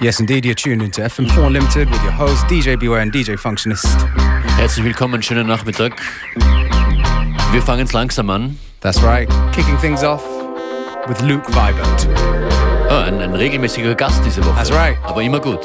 Yes, indeed, you're tuned into FM4 Unlimited with your host DJ Beware and DJ Functionist. Herzlich willkommen, schönen Nachmittag. Wir fangen es langsam an. That's right, kicking things off with Luke Vibert. Oh, ein regelmäßiger Gast diese Woche. That's right. Aber immer gut.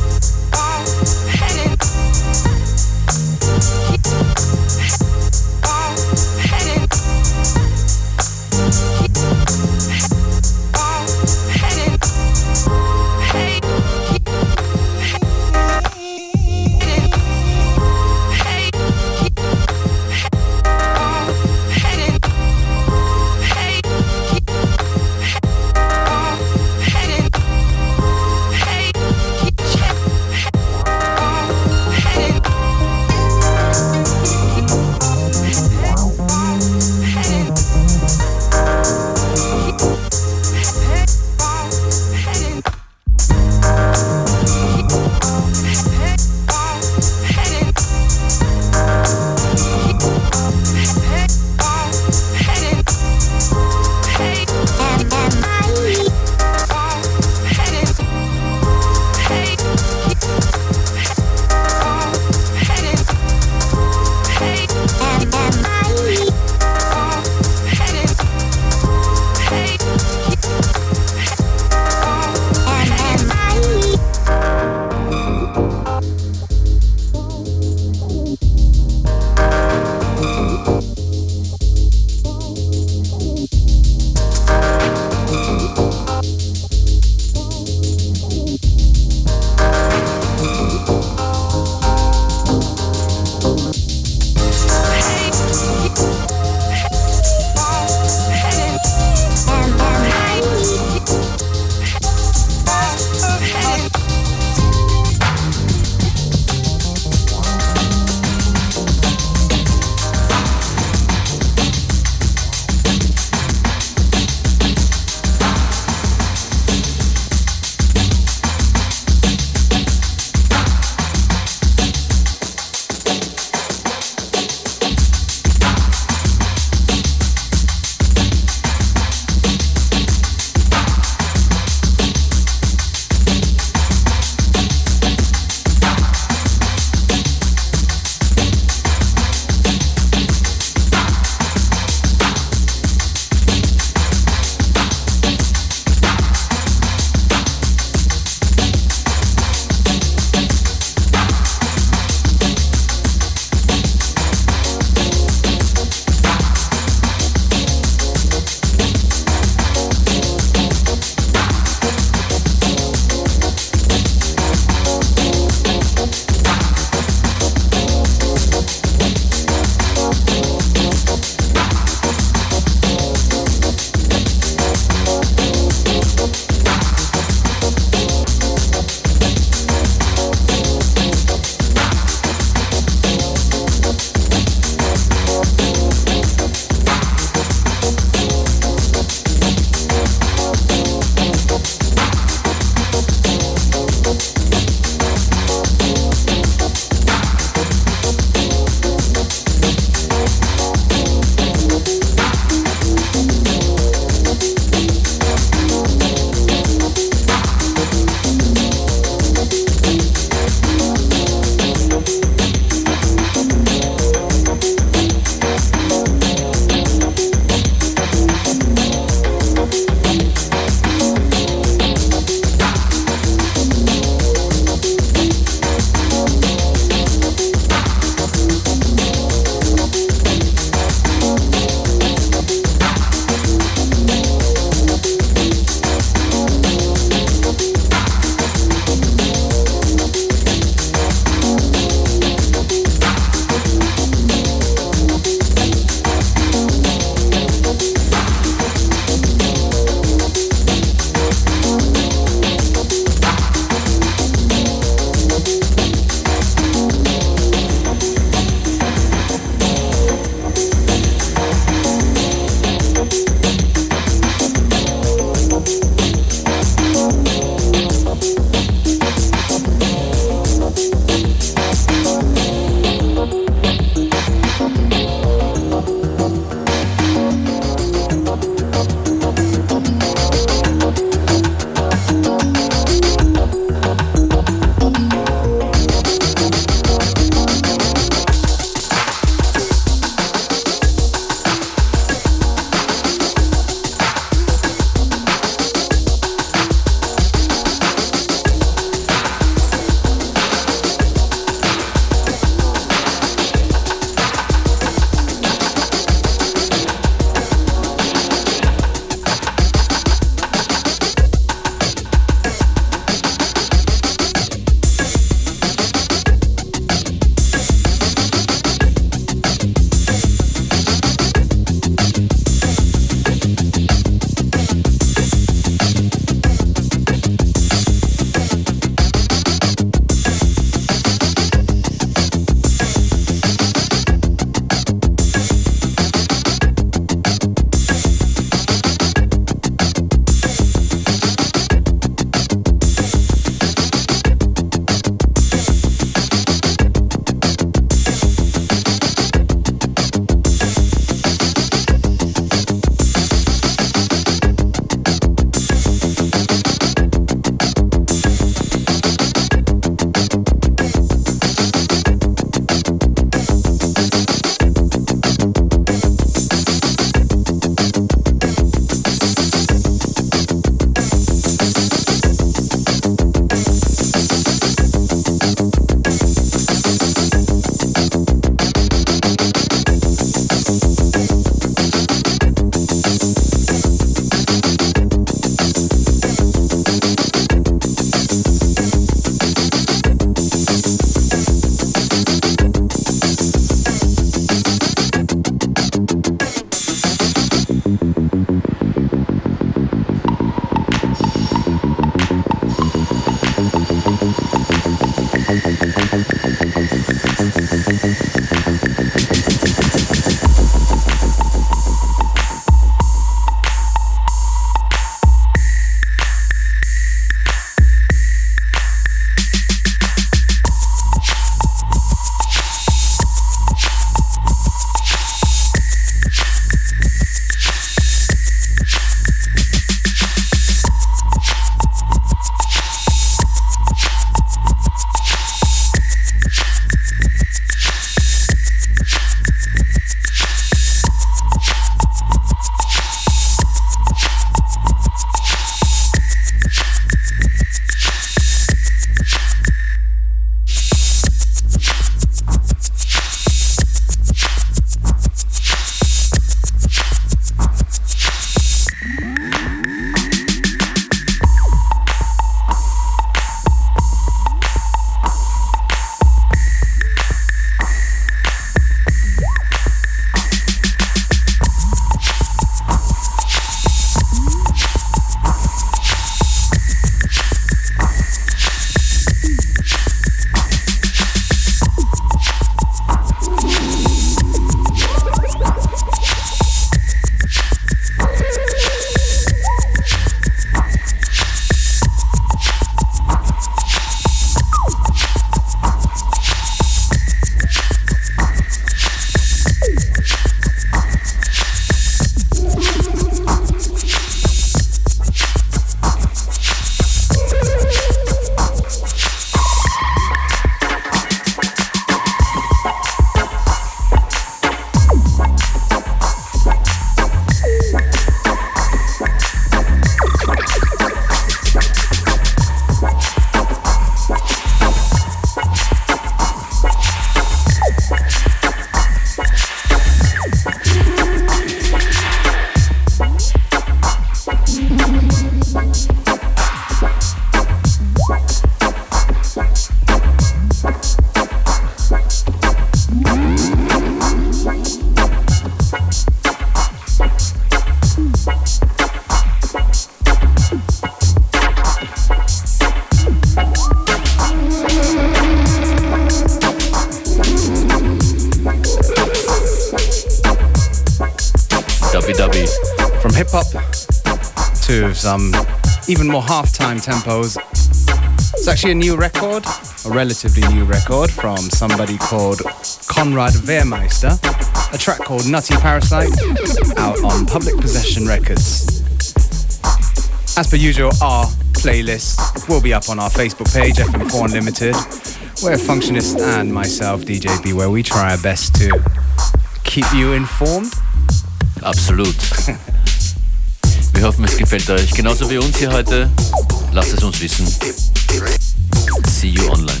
to some even more halftime tempos. It's actually a new record, a relatively new record from somebody called Konrad Wehrmeister, a track called Nutty Parasite, out on Public Possession Records. As per usual, our playlist will be up on our Facebook page, FM4 Unlimited, where Functionist and myself, DJ Beware, we try our best to keep you informed. Absolut. Wir hoffen, es gefällt euch. Genauso wie uns hier heute. Lasst es uns wissen. See you online.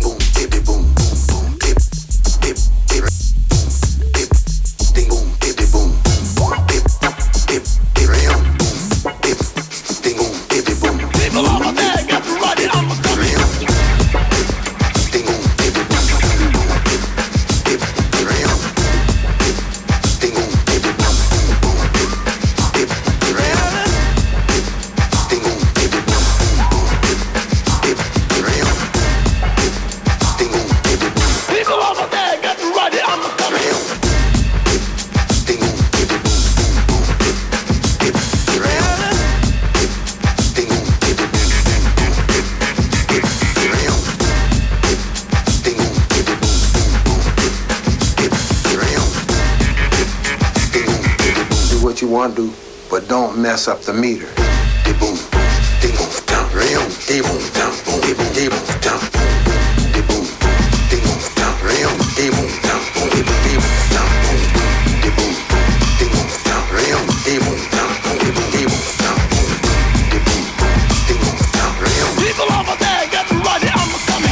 Do, but don't mess up the meter. Boom, boom, down, boom, down, boom, down, boom, down, boom, down, boom, down, boom, down, people over there get ready, I'm coming.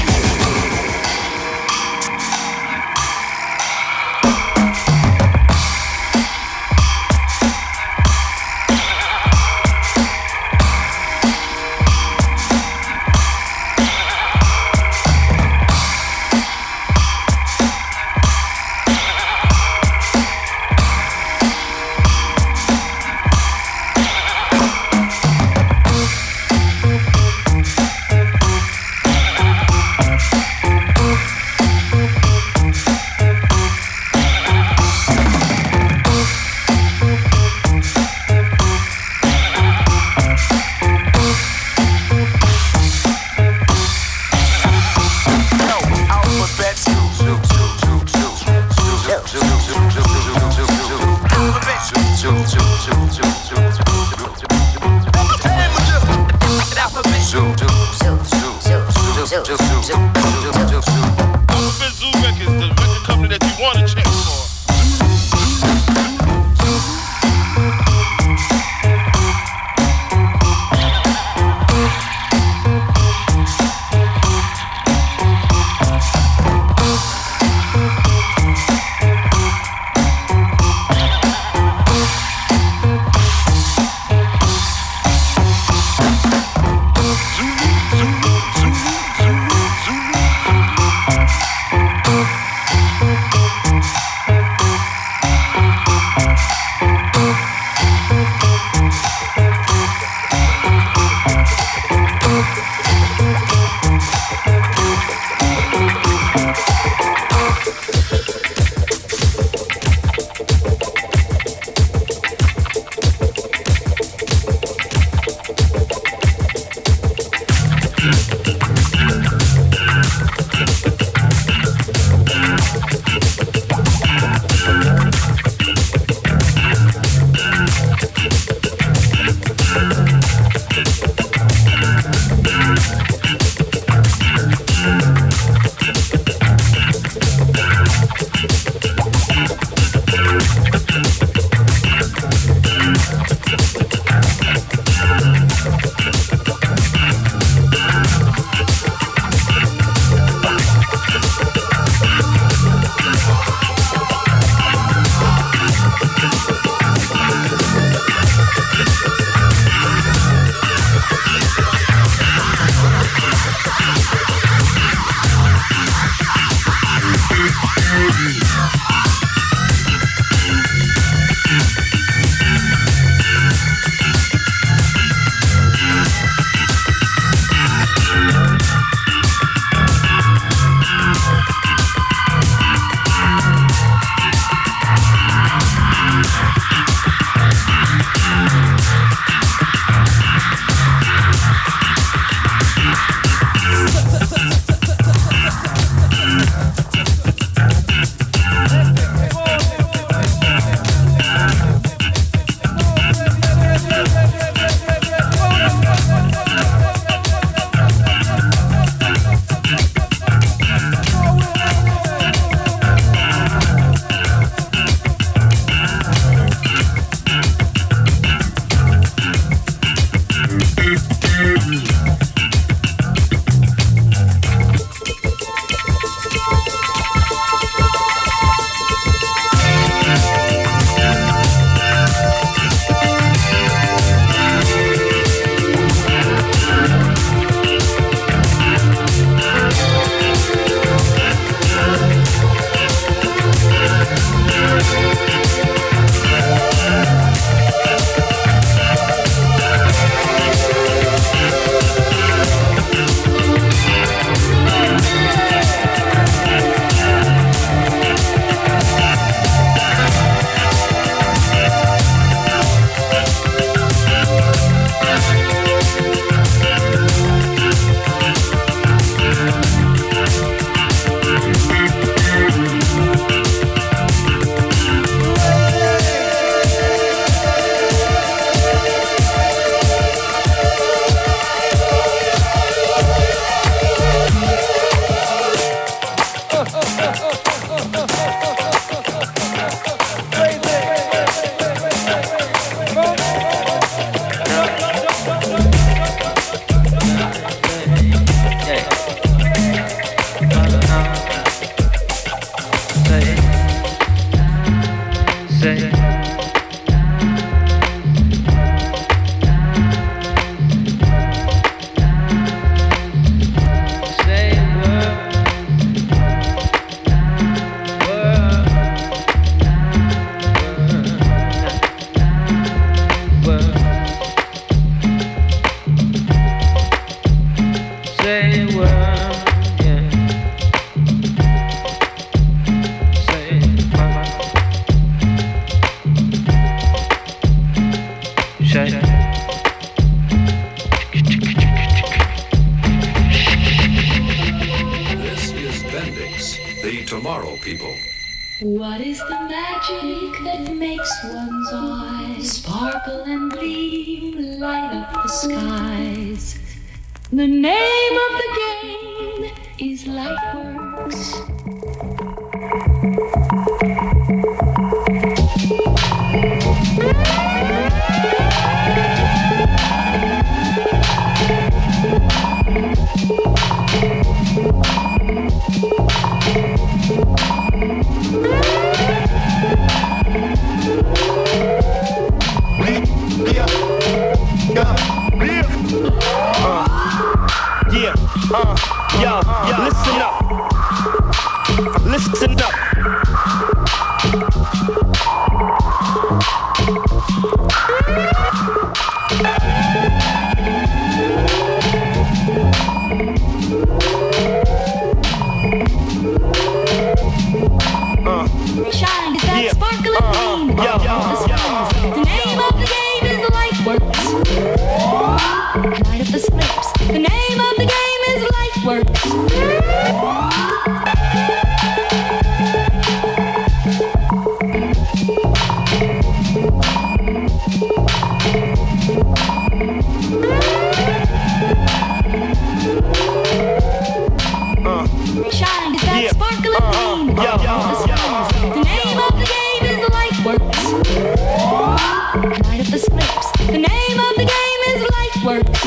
What is the magic that makes one's eyes sparkle and gleam, light up the skies? The name of the game is Lightworks. Listen up. Listen up. Shine is that sparkle and gleam. The name of the game is Lightworks. Light up the slips. The name of the game is Lightworks. Shine is that sparkle and gleam. The name of the game is Lightworks. Light up the slips. The name of the game is Lightworks.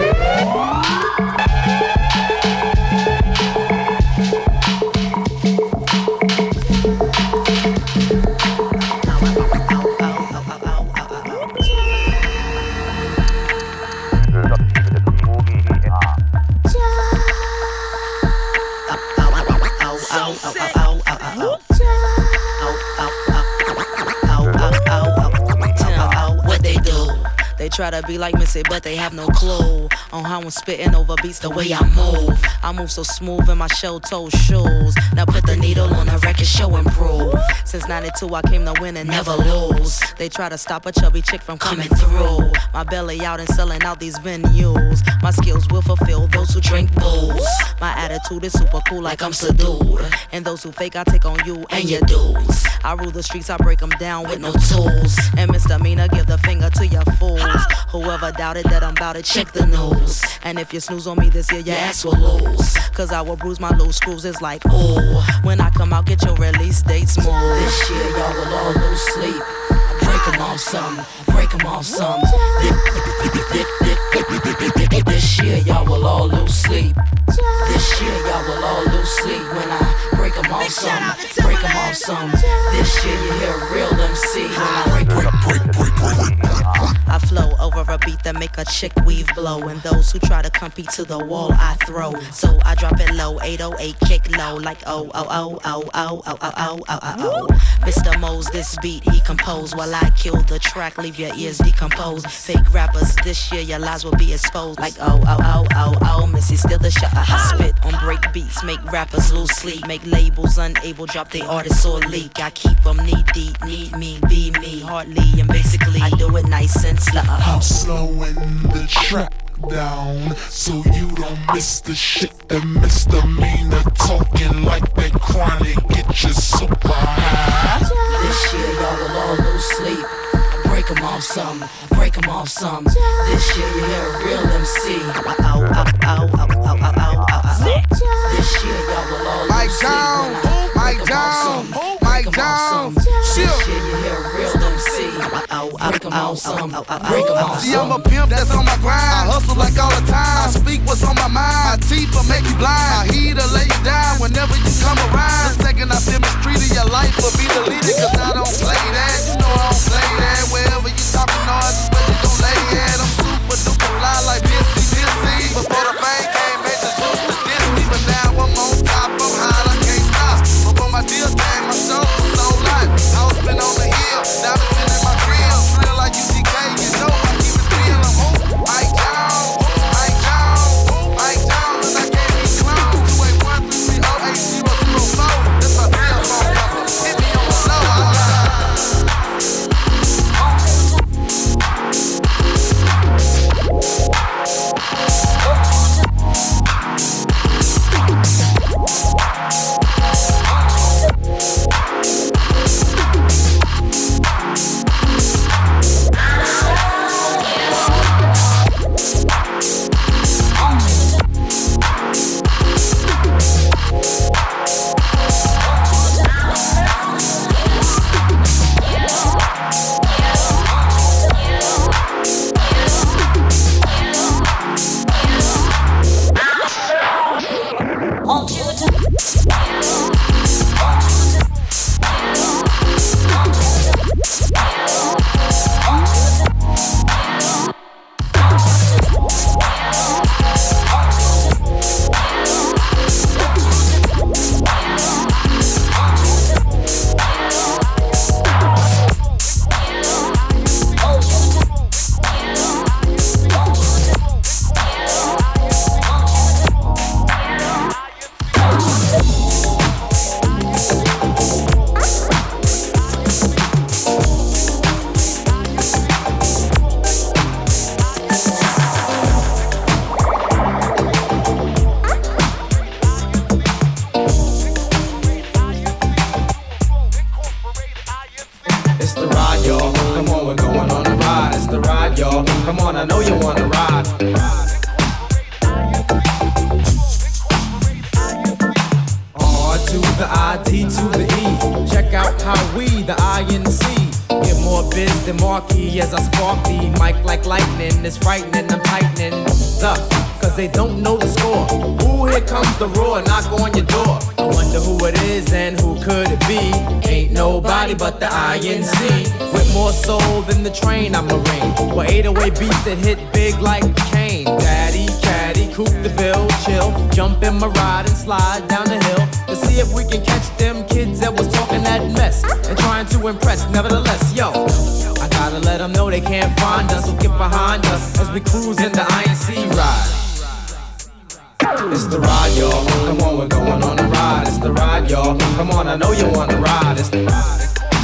Try to be like Missy, but they have no clue on how I'm spitting over beats the way I move. I move so smooth in my shell-toe shoes. Now put the needle on the record, show improve. Since 92 I came to win and never lose. They try to stop a chubby chick from coming through. My belly out and selling out these venues. My skills will fulfill those who drink booze. My attitude is super cool like I'm subdued. And those who fake I take on you and your dudes. I rule the streets, I break them down with no tools. And misdemeanor, give the finger to your fools. Whoever doubted that I'm bout it, check the news. And if you snooze on me this year, your ass will lose. Cause I will bruise my loose screws, it's like, ooh. When I come out, get your release date smooth. This year, y'all will all lose sleep. Break them off some, break them off some. This year, y'all will all lose sleep. This year, y'all will all lose sleep. When I break them off some, break them off some. This year, you hear a real MC. When I break. I flow over a beat that make a chick weave blow. And those who try to compete to the wall, I throw. So I drop it low, 808 kick low. Like oh, oh, oh, oh, oh, oh, oh, oh, oh, oh. Mr. Mose, this beat he composed. While I kill the track, leave your ears decomposed. Fake rappers, this year your lies will be exposed. Like oh, oh, oh, oh, oh, Missy still the shot. I spit on break beats, make rappers lose sleep. Make labels unable, drop their artists or leak. I keep them knee deep, need me, be me, hardly and basically. I do it nice and slow. I'm slowing the track down so you don't miss the shit that misdemeanor talking like that chronic. Get you super high. This year y'all will all lose sleep. Break them off some, break them off some. This year you hear a real MC. Ow, ow, ow, ow, ow, ow, ow, ow, ow. This year y'all will all lose sleep. Mic down, mic down. This year you hear a real MC. Break them off some, break them off some. See, I'm a pimp that's on my grind. I hustle like all the time. I speak what's on my mind. My teeth will make you blind. My heat'll lay you down. But the INC with more soul than the train, I'm Marine. Well, 808 beats that hit big like Kane. Daddy, caddy, coupe the bill, chill. Jump in my ride and slide down the hill to see if we can catch them kids that was talking that mess and trying to impress. Nevertheless, yo, I gotta let them know they can't find us. So get behind us as we cruise in the INC ride. It's the ride, y'all. Come on, we're going on a ride. It's the ride, y'all. Come on, I know you wanna ride. It's the ride.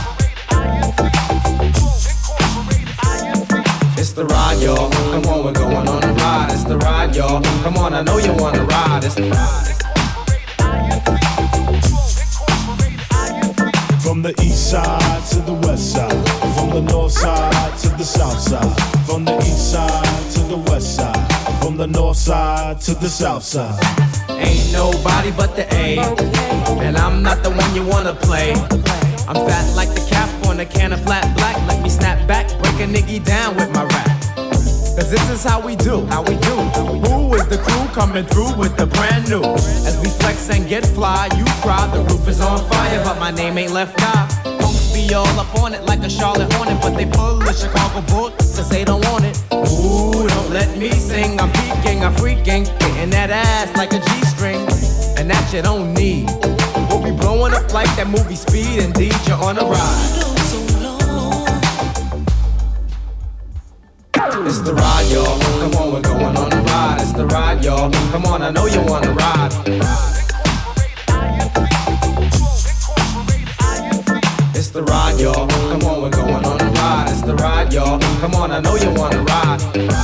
It's the ride, y'all. Come on, we're going on a ride. It's the ride, y'all. Come on, I know you wanna ride. It's the ride. From the east side to the west side, from the north side to the south side, from the east side to the west side, from the north side to the south side. Ain't nobody but the A, and I'm not the one you wanna play. I'm fat like the cap on a can of flat black. Let me snap back, break a nigga down with my rap. Cause this is how we do, how we do. Who is the crew coming through with the brand new? As we flex and get fly, you cry, the roof is on fire, but my name ain't Left Eye. Punks be all up on it like a Charlotte Hornet, but they full of Chicago Bulls, cause they don't want it. Ooh, don't let me sing, I'm peeking, I'm freaking, hitting that ass like a G-string, and that you don't need. We'll be blowing up like that movie Speed, indeed, you're on a ride. It's the ride, y'all. Come on, we're going on a ride. It's the ride, y'all. Come on, I know you wanna ride. It's the ride, y'all. Come on, we're going on a ride. It's the ride, y'all. Come on, I know you wanna ride.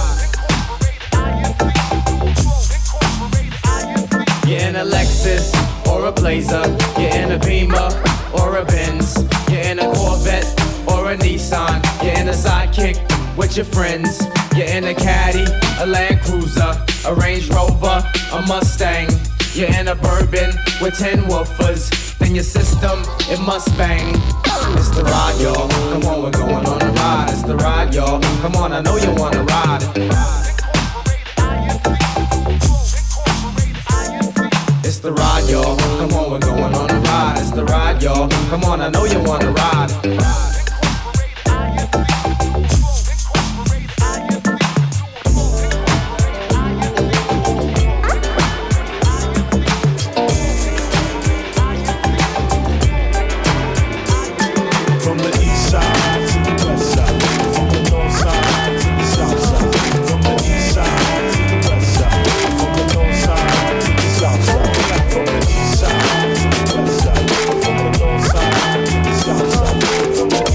You're in a Lexus or a Blazer. You're in a Beamer or a Benz. You're in a Corvette or a Nissan. You're in a Sidekick with your friends. You're in a Caddy, a Land Cruiser, a Range Rover, a Mustang. You're in a Bourbon with 10 woofers. Then your system, it must bang. It's the ride, y'all. Come on, we're going on a ride. It's the ride, y'all. Come on, I know you wanna ride. It's the ride, y'all. Come on, we're going on a ride. It's the ride, y'all. Come on, I know you wanna ride. From the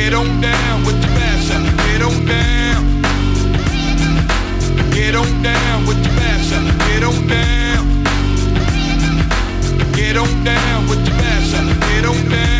Get on down with the mashup. Get on down. Get on down with the mashup. Get on down. Get on down with the mashup. Get on down.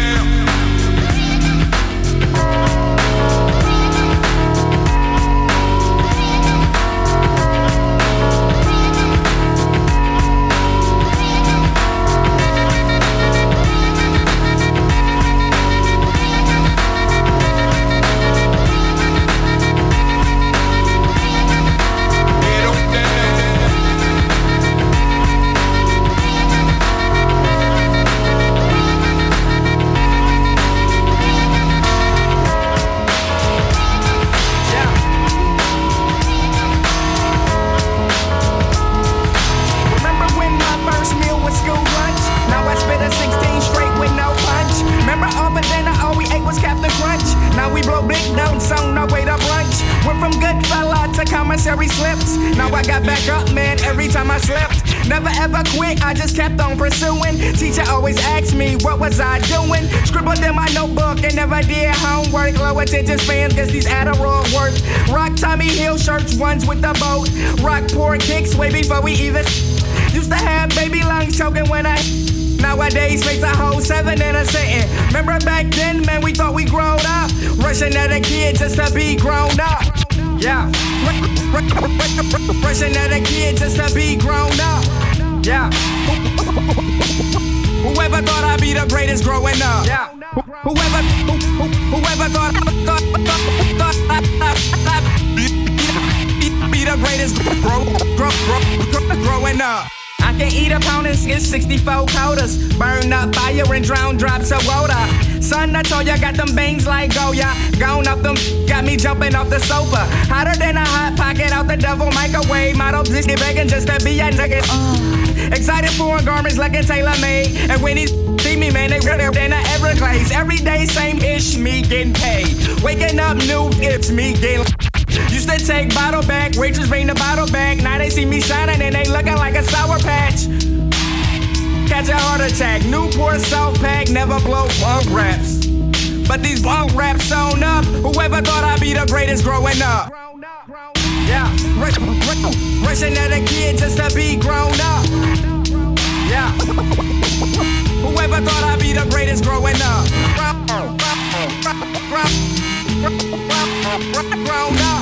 Commissary slips. Now I got back up, man, every time I slipped. Never ever quit, I just kept on pursuing. Teacher always asked me, what was I doing? Scribbled in my notebook and never did homework. Low attention spans, guess these Adderall work. Rock Tommy Hill shirts, ones with the boat. Rock poor kicks way before we even used to have baby lungs choking when I nowadays face a whole 7 in a sitting. Remember back then, man, we thought we grown up. Rushing at a kid just to be grown up. Yeah, rushing at a kid just to be grown up. Yeah, whoever thought I'd be the greatest growing up. Yeah, whoever thought I'd be the greatest growing up. I can eat a pound and get 64 quotas. Burn up fire and drown drops of water. Son, I told ya, got them bangs like Goya. Gone up them, got me jumping off the sofa. Hotter than a hot pocket out the devil microwave. Model this begging just to be a nigga. Excited for garments like a tailor-made. And when he see me, man, they redder than a Everglades. Every day, same ish, me getting paid. Waking up new, it's me getting. Used to take bottle back, waitress bring the bottle back. Now they see me shining and they looking like a sour patch. Catch a heart attack, Newport South Pack, never blow bunk raps. But these bunk raps sewn up, whoever thought I'd be the greatest growing up. Yeah, rushing at a kid just to be grown up. Yeah, whoever thought I'd be the greatest growing up. Grown up.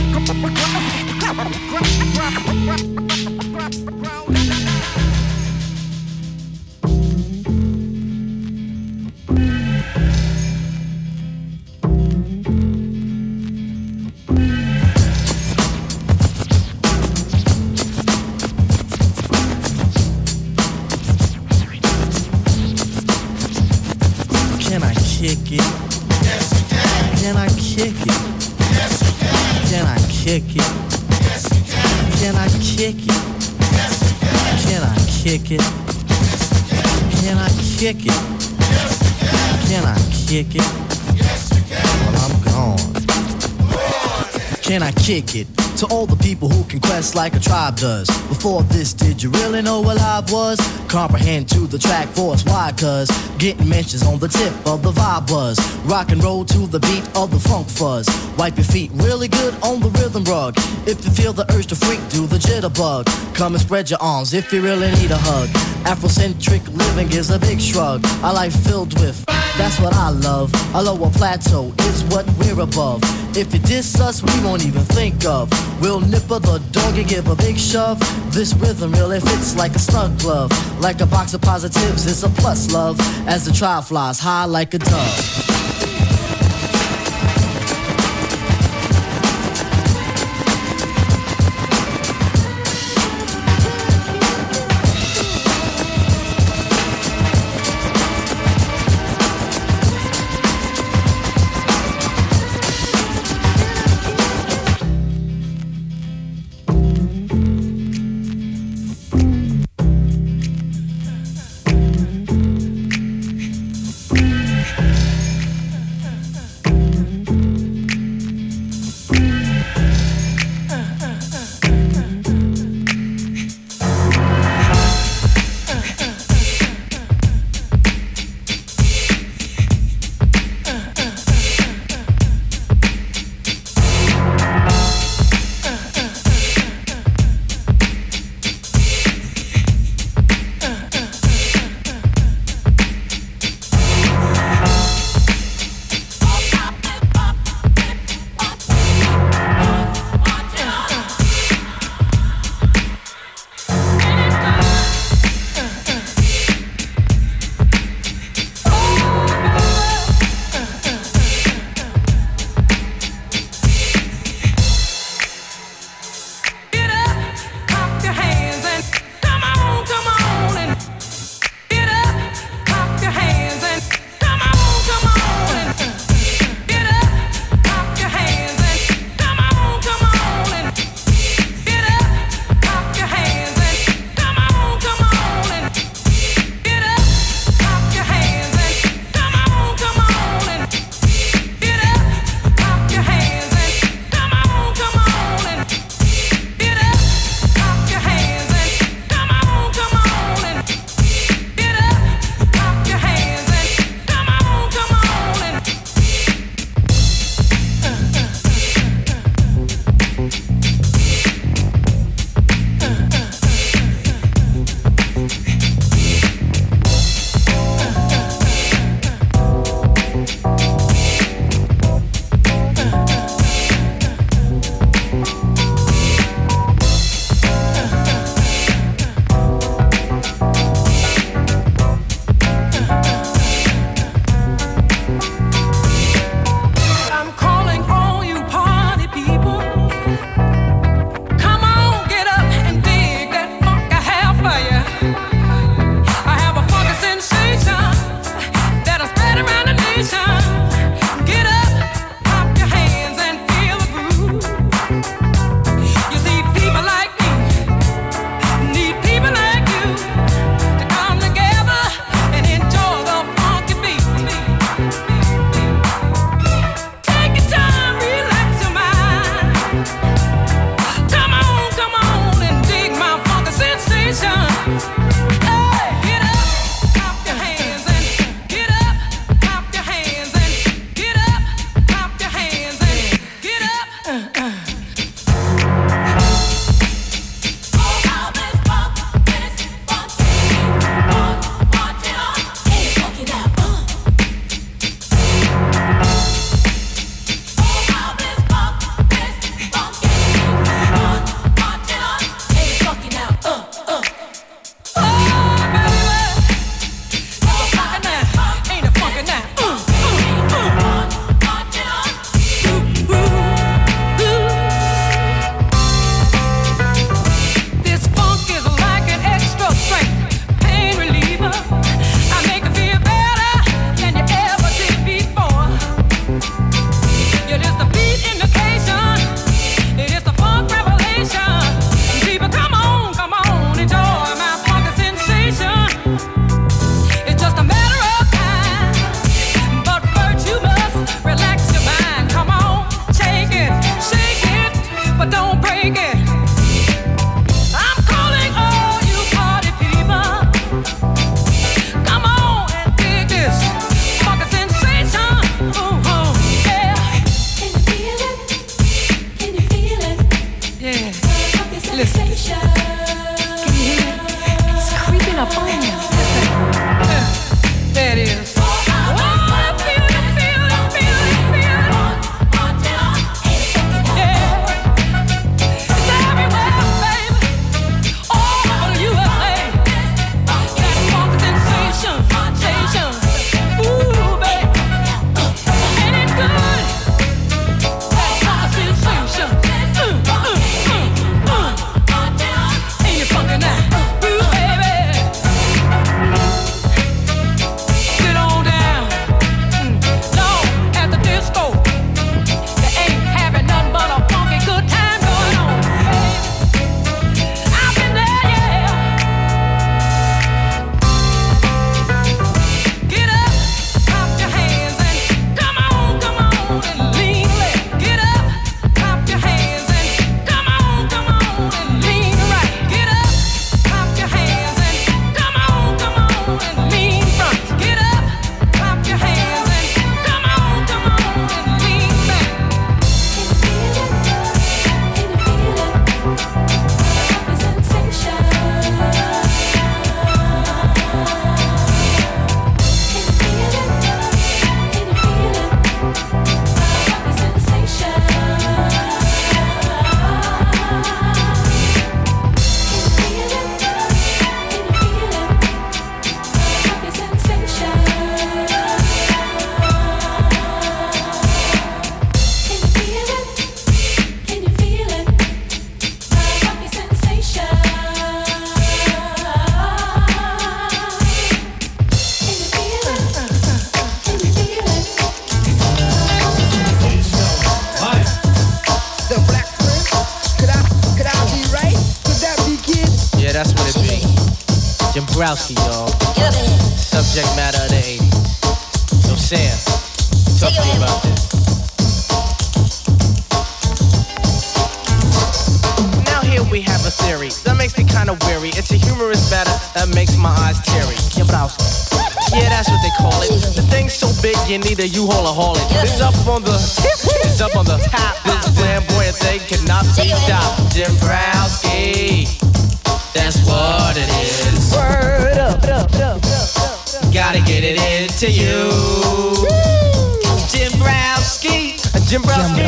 Can I kick it? Yes, you can. Can I kick it? Yes, you can. Can I kick it? Yes, you can. Can I kick it? Yes, you can. Can I kick it? Can I kick it? Yes, you can. Can I kick it? Yes, you can. Well, I'm gone. Can I kick it? To all the people who can quest like a tribe does. Before this, did you really know what I was? Comprehend to the track force, why? Cause getting mentions on the tip of the vibe buzz. Rock and roll to the beat of the funk fuzz. Wipe your feet really good on the rhythm rug. If you feel the urge to freak, do the jitterbug. Come and spread your arms if you really need a hug. Afrocentric living is a big shrug. A life filled with, that's what I love. A lower plateau is what we're above. If you diss us, we won't even think of. We'll nipper the dog and give a big shove. This rhythm really fits like a snug glove. Like a box of positives, it's a plus love. As the tribe flies high like a dove. You're just a beat indication. It is the funk revelation. People, come on, enjoy my funky sensation. It's just a matter of time. But first you must relax your mind. Come on, shake it, but don't break it. I'm calling all you party people. Come on and dig this funky sensation. Yeah. Can you feel it? Can you feel it? Yeah. Funky sensation. Can you hear it? It's creeping up on you. There it is. Jimbrowski, y'all. Subject matter of the 80s. So Sam, talk to me about this. Now here we have a theory that makes me kind of weary. It's a humorous matter that makes my eyes teary. Jimbrowski. Yeah, that's what they call it. The thing's so big you need a U-Haul or haul it. It's up on the top. This flamboyant thing cannot be stopped. Jimbrowski. That's what it is. Word up. Gotta get it into you. Jimbrowski. Jimbrowski.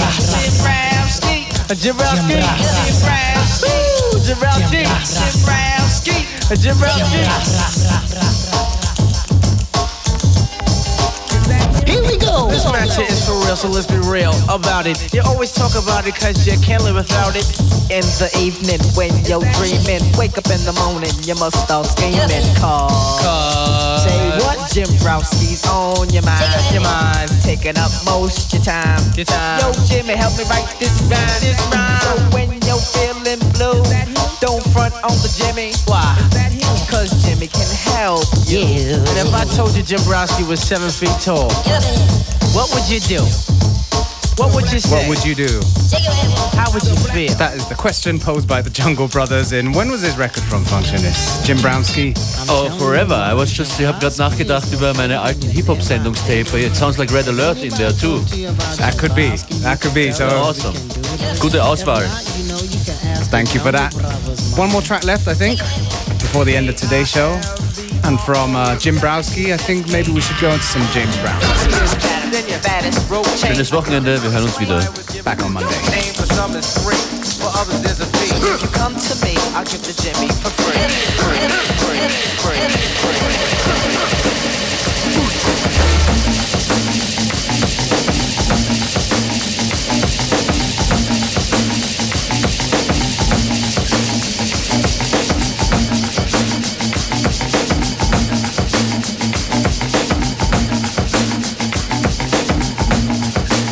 Here we go. This match here is for real, so let's be real about it. You always talk about it cause you can't live without it. In the evening when you're dreaming, wake up in the morning, you must start scheming. Cause say what? Jimbrowski's on your mind. Your mind's taking up most your time. Yo, Jimmy, help me write this rhyme. So when you're feeling blue, don't front on the Jimmy. Why? Cause Jimmy can help you. And if I told you Jimbrowski was 7 feet tall, what would you do? What would you say? What would you do? How would you feel? That is the question posed by the Jungle Brothers in, when was his record from, Functionist? Jimbrowski? Oh, forever. I was just, ich habe gerade nachgedacht über meine alten Hip-Hop-Sendungstape. It sounds like Red Alert in there too. That could be. So awesome. Gute Auswahl. Thank you for that. One more track left, I think, before the end of today's show. And from Jimbrowski, I think maybe we should go into some James Brown. Schönes Wochenende, wir hören uns wieder. Back on Monday. If you come to me, I'll give the Jimmy for free.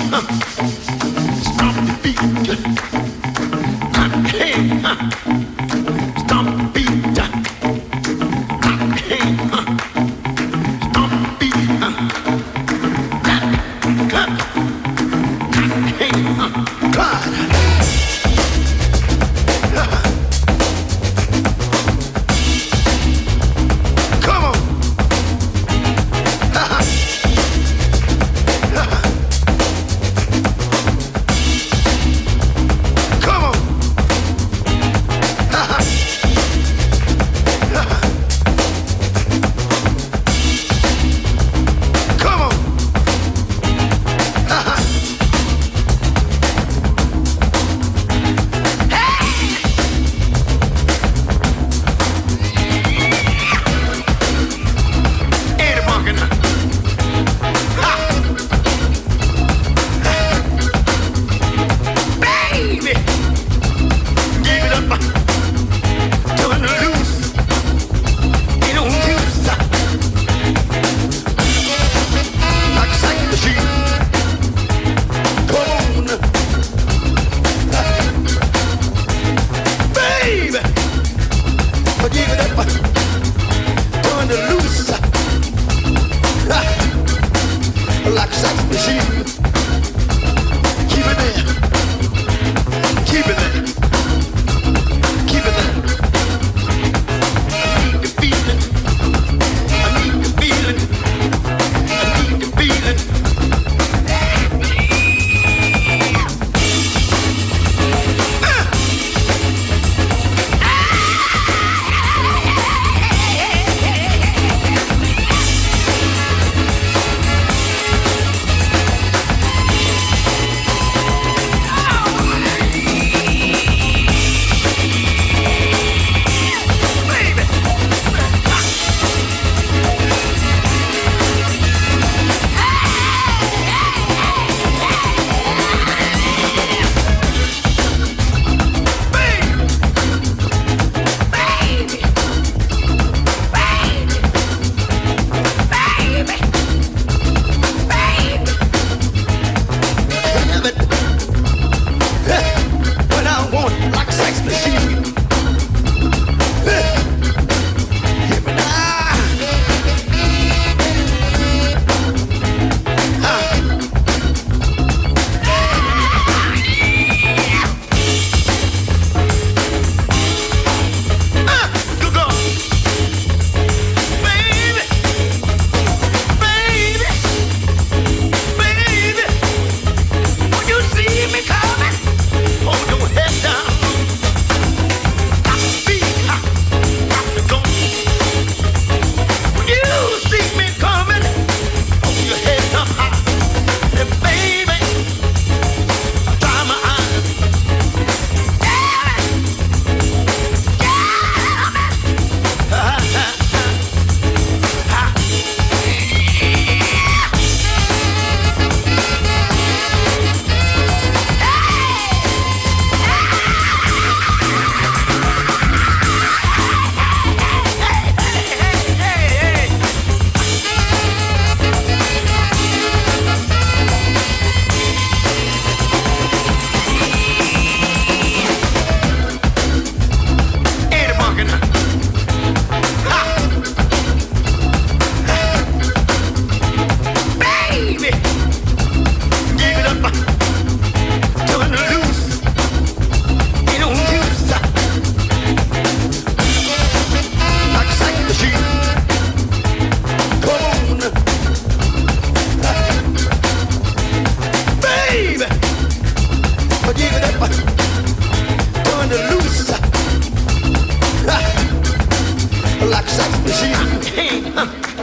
like sex machine.